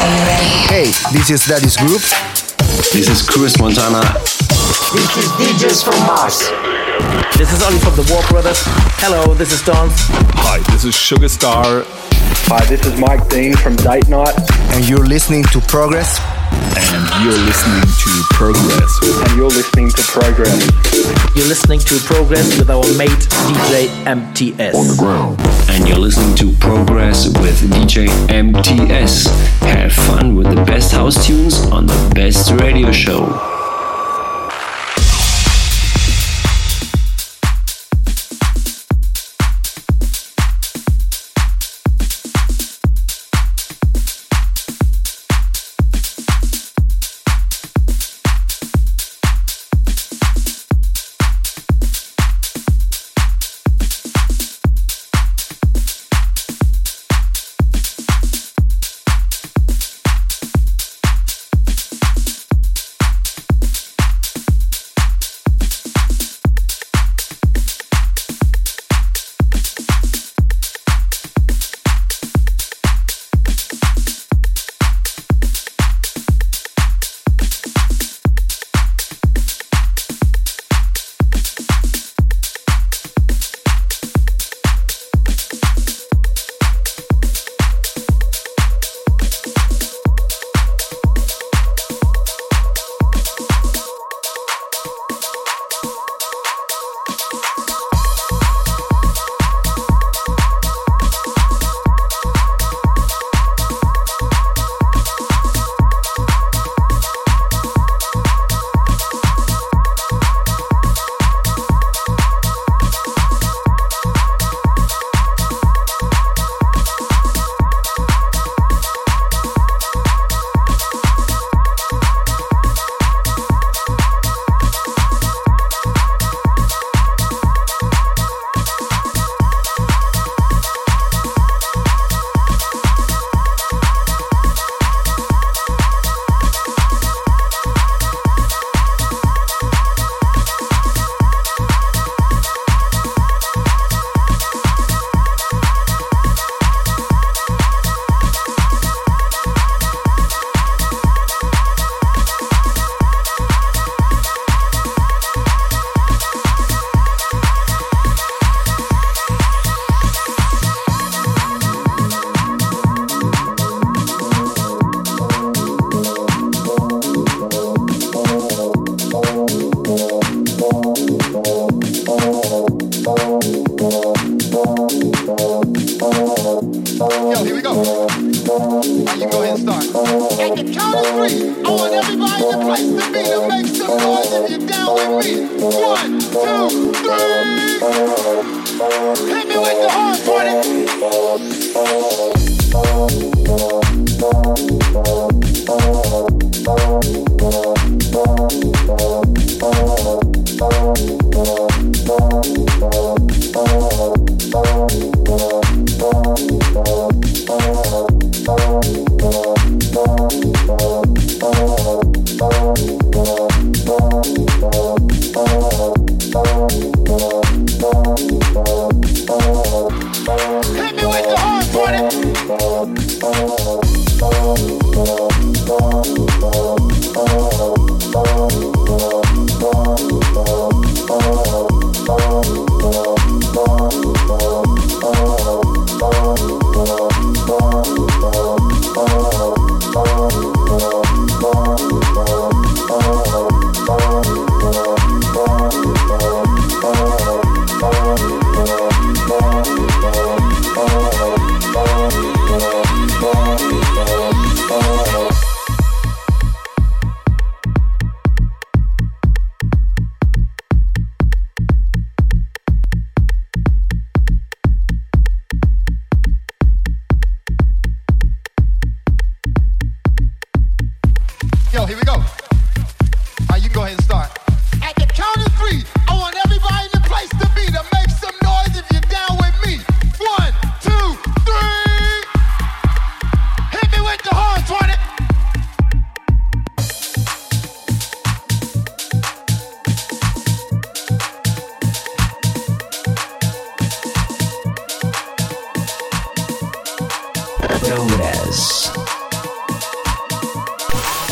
Hey, this is Daddy's Group. This is Chris Montana. This is DJs from Mars. This is Ollie from the War Brothers. Hello, this is Don. Hi, this is Sugar Star. Hi, this is Mike Dean from Date Night. And you're listening to Progress. And you're listening to Progress. And you're listening to Progress. You're listening to Progress with our mate DJ MTS. On the ground. And you're listening to Progress with DJ MTS. Have fun with the best house tunes on the best radio show.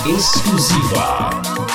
exclusiva.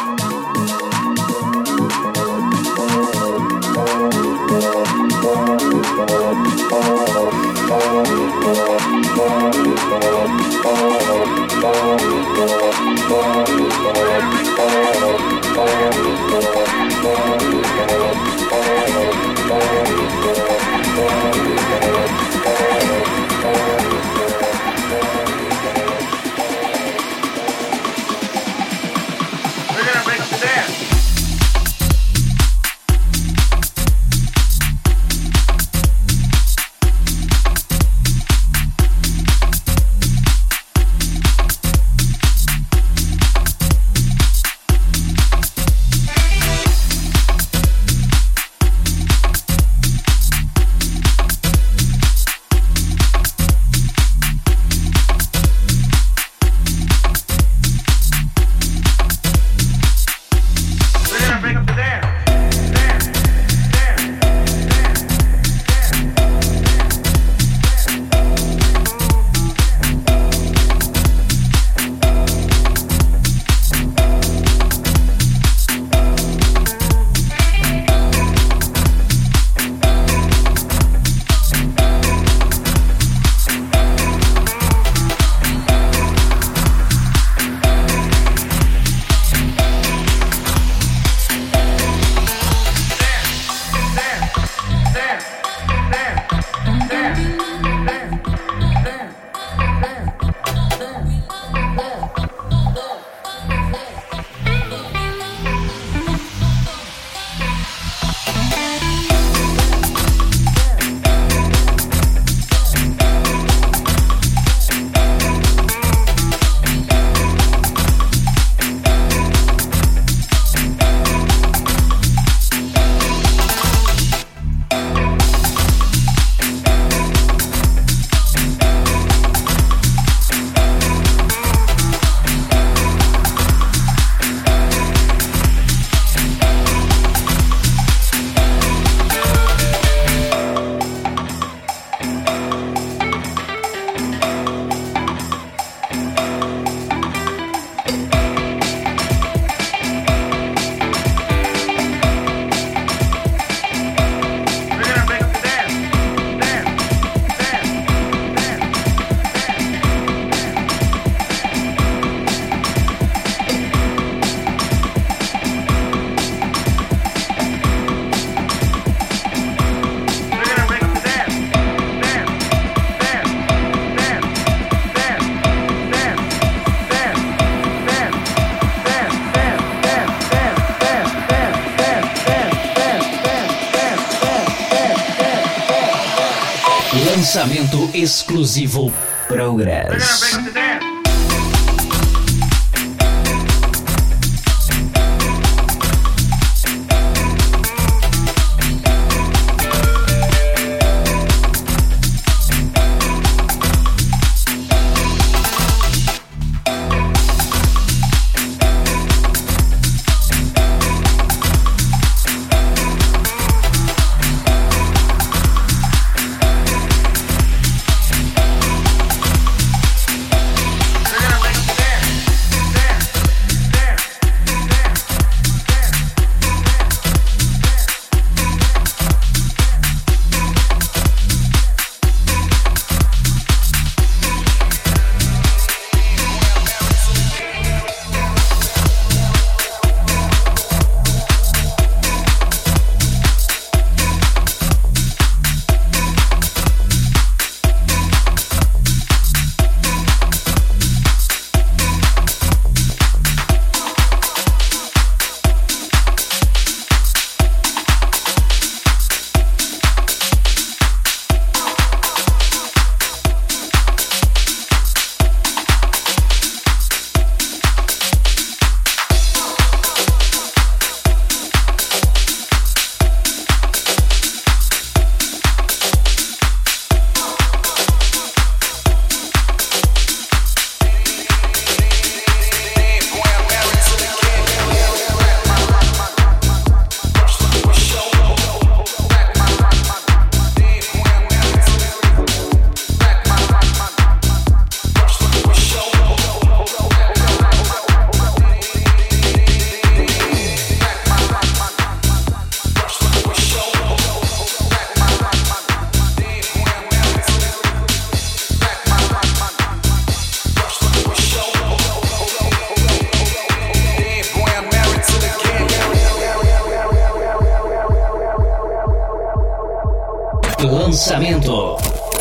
Lançamento exclusivo Progress. Lançamento.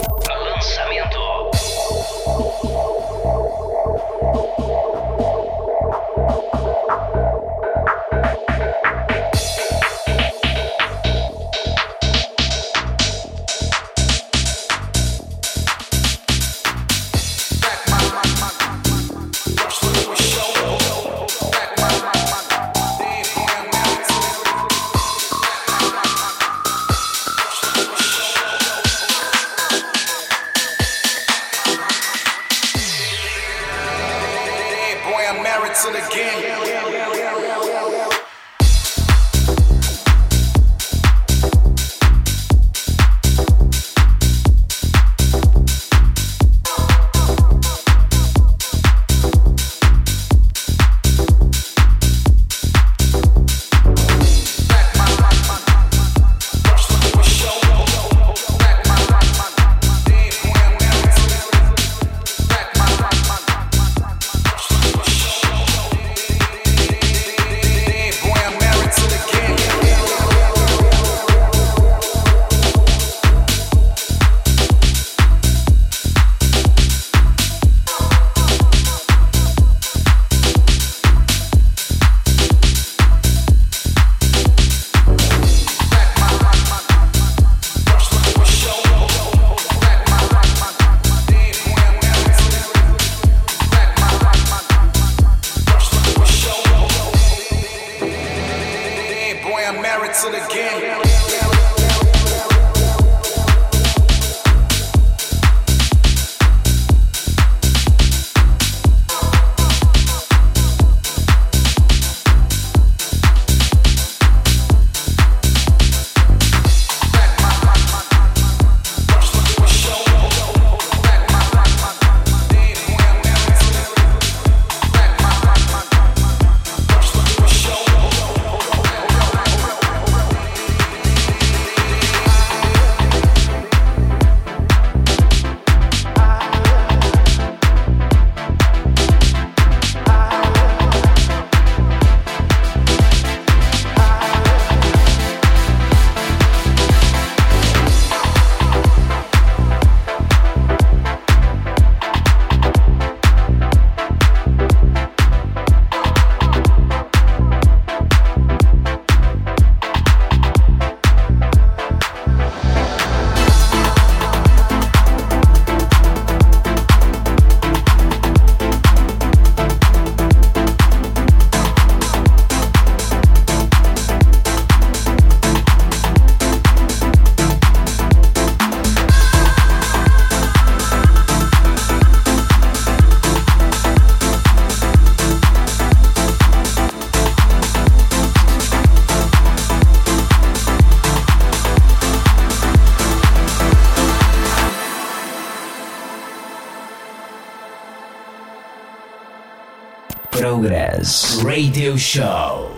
Progress Radio Show.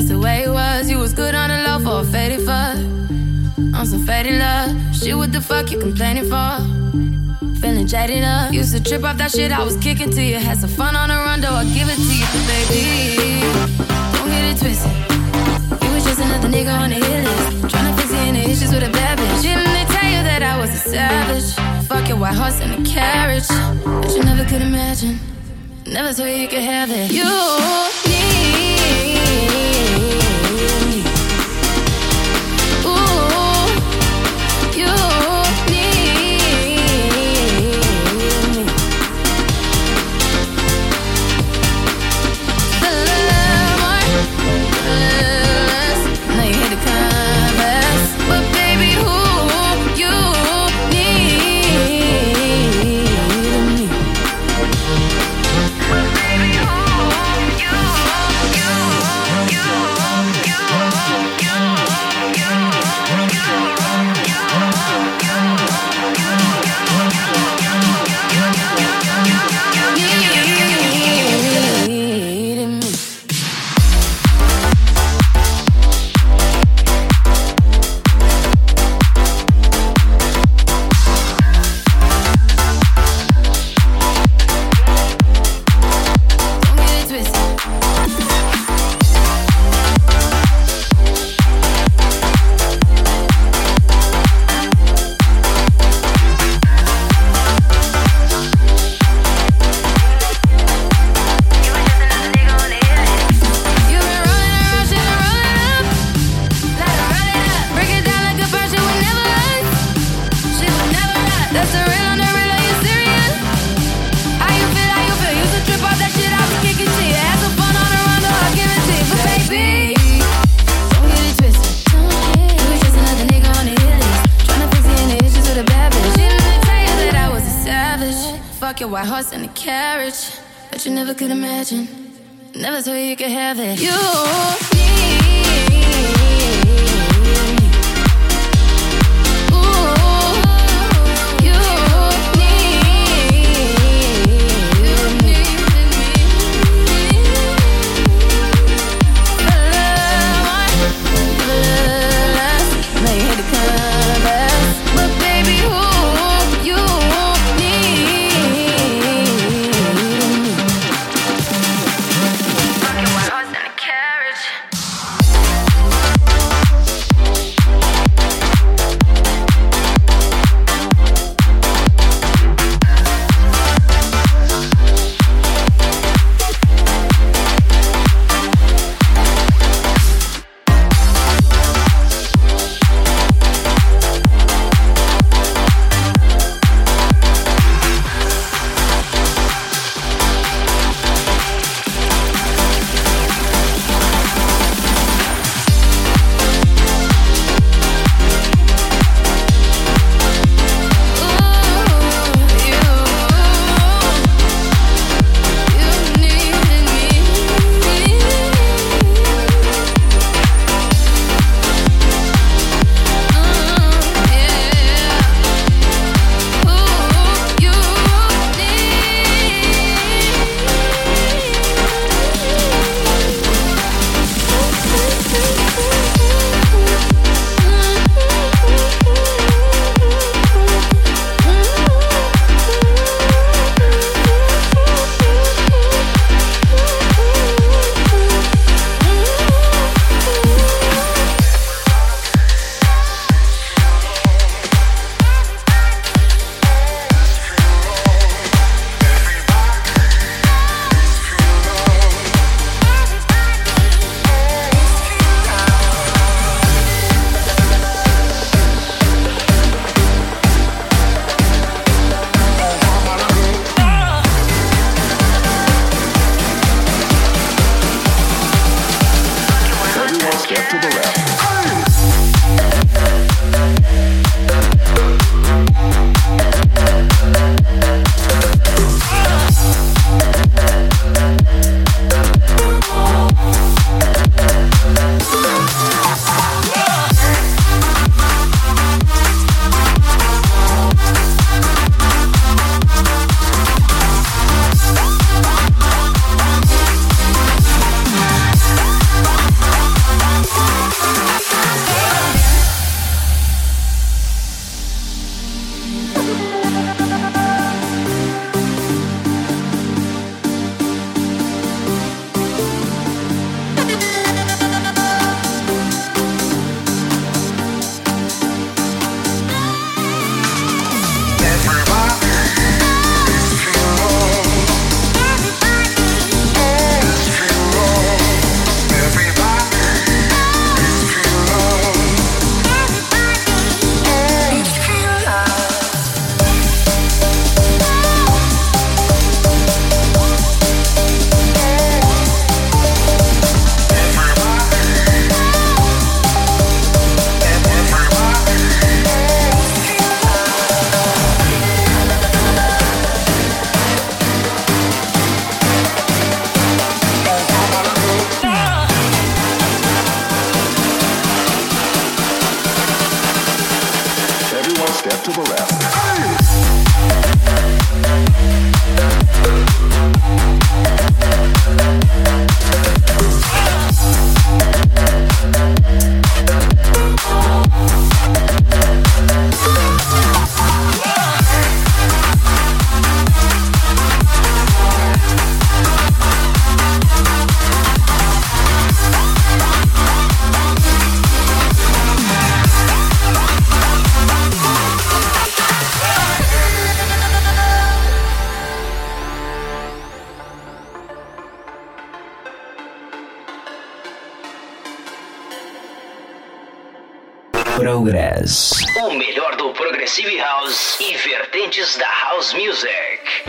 that's the way it was. You was good on the low for a faded fuck. On some faded love. Shit, what the fuck you complaining for? Feeling jaded up. Used to trip off that shit I was kicking to you. Had some fun on the run, though I give it to you. But baby, don't get it twisted. You was just another nigga on the hit list. Tryna fix any issues with a bad bitch. Didn't they tell you that I was a savage? Fuck your white horse and a carriage. But you never could imagine. Never thought you could have it. You need me. Ooh, you need me. A little more, a little less. Now you hit the canvas, but baby, who you need me. Your white horse and a carriage, but you never could imagine. Never thought you could have it. You need me. Ooh, you need me. A little more, a little less. Now you hit the canvas, but baby, who you need? Fucking white horse and a carriage. step to the left. Progress. O melhor do Progressive House e vertentes da House Music.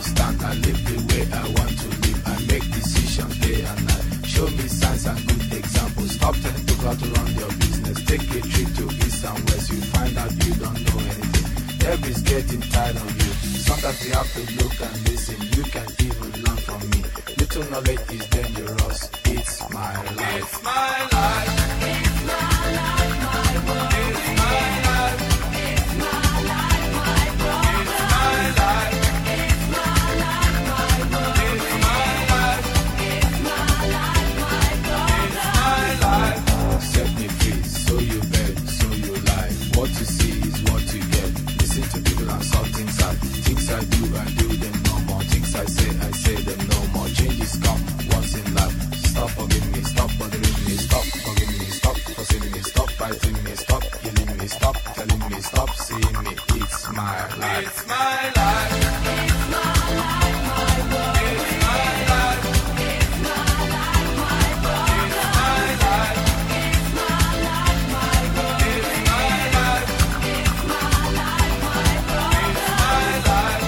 understand. I live the way I want to live. I make decisions day and night. Show me signs and good examples. Stop telling people how to run your business. Take a trip to east and west. You find out you don't know anything. Everybody's getting tired of you. Sometimes you have to look and listen. You can even learn from me. Little knowledge is dangerous. It's my life. It's my life. It's my life, my world. It's my life. It's my life, my world. It's my life. It's my life, my world. It's my life. It's my life, my world. It's my life. Set me free, so you beg, so you lie. What you see is what you get. Listen to people and saw things I do them no more. Things I say them no more. Changes come once in life. Stop forgiving me, stop bothering me, stop forgiving me, stop forcing me, stop fighting me, stop killing me, stop telling me, stop seeing me. It's my life. It's my life. It's my life, my world. It's my life. It's my life, my world. It's my life. It's my life, my world. It's my life. It's my life, my world. It's my life.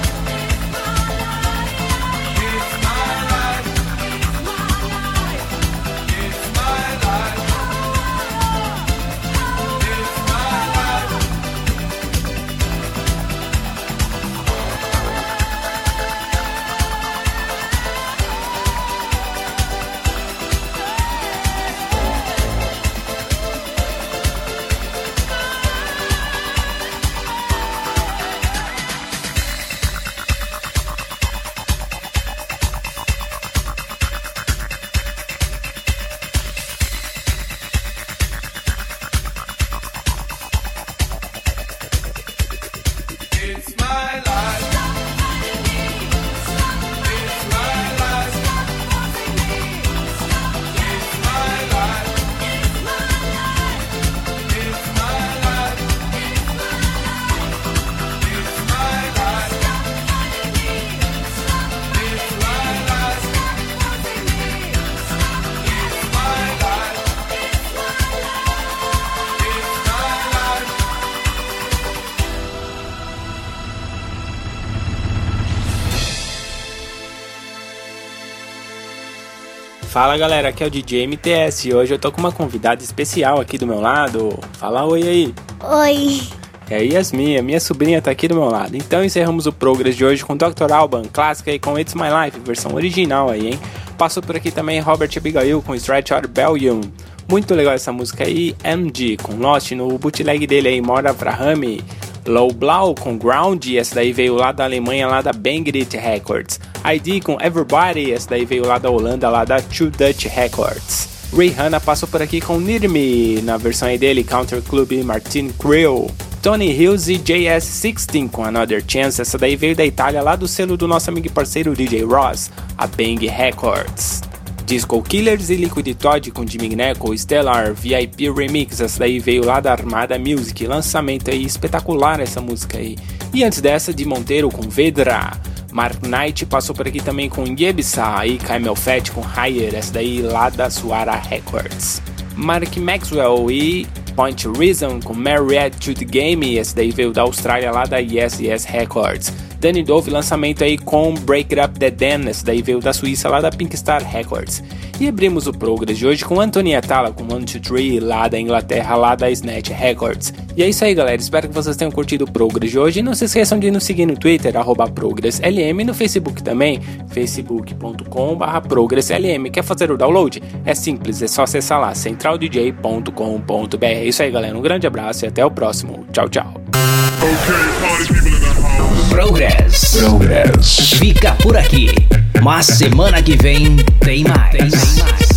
Fala galera, aqui é o DJ MTS e hoje eu tô com uma convidada especial aqui do meu lado. Fala oi aí. Oi. É a Yasmin, a minha sobrinha tá aqui do meu lado. Então encerramos o Progress de hoje com Dr. Alban, clássica aí com It's My Life, versão original aí, hein. Passou por aqui também Robert Abigail com Stretch Out Rebellion. Muito legal essa música aí. MG com Lost no bootleg dele aí, Mora Avrahami. Low Blau com Ground, essa daí veio lá da Alemanha, lá da Bangrit Records. ID com Everybody, essa daí veio lá da Holanda, lá da Two Dutch Records. Rihanna passou por aqui com Need Me, na versão aí dele, Counter Club Martin Creel. Tony Hills e JS16 com Another Chance, essa daí veio da Itália, lá do selo do nosso amigo e parceiro DJ Ross, a Bang Records. Disco Killers e Liquid Todd com Jimmy Gnecco, Stellar, VIP Remix, essa daí veio lá da Armada Music, lançamento aí espetacular essa música aí. E antes dessa, de Monteiro com Vedra. Mark Knight passou por aqui também com Yebisa e Camel Fat com Higher, essa daí lá da Suara Records. Mark Maxwell e Point Reason com Married to the Game, essa daí veio da Austrália, lá da Yes Yes Records. Danny Dove, lançamento aí com Break It Up The Den, essa daí veio da Suíça, lá da Pink Star Records. E abrimos o Progress de hoje com Antonia Talla com 1, 2, 3, lá da Inglaterra, lá da Snatch Records. E é isso aí galera, espero que vocês tenham curtido o Progress de hoje. E não se esqueçam de nos seguir no Twitter, @ProgressLM, e no Facebook também, facebook.com/ProgressLM. Quer fazer o download? É simples, é só acessar lá, centraldj.com.br. É isso aí galera, um grande abraço e até o próximo. Tchau, tchau. Progress fica por aqui, mas semana que vem tem mais.